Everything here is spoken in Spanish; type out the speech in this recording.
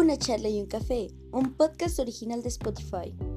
Una charla y un café, un podcast original de Spotify.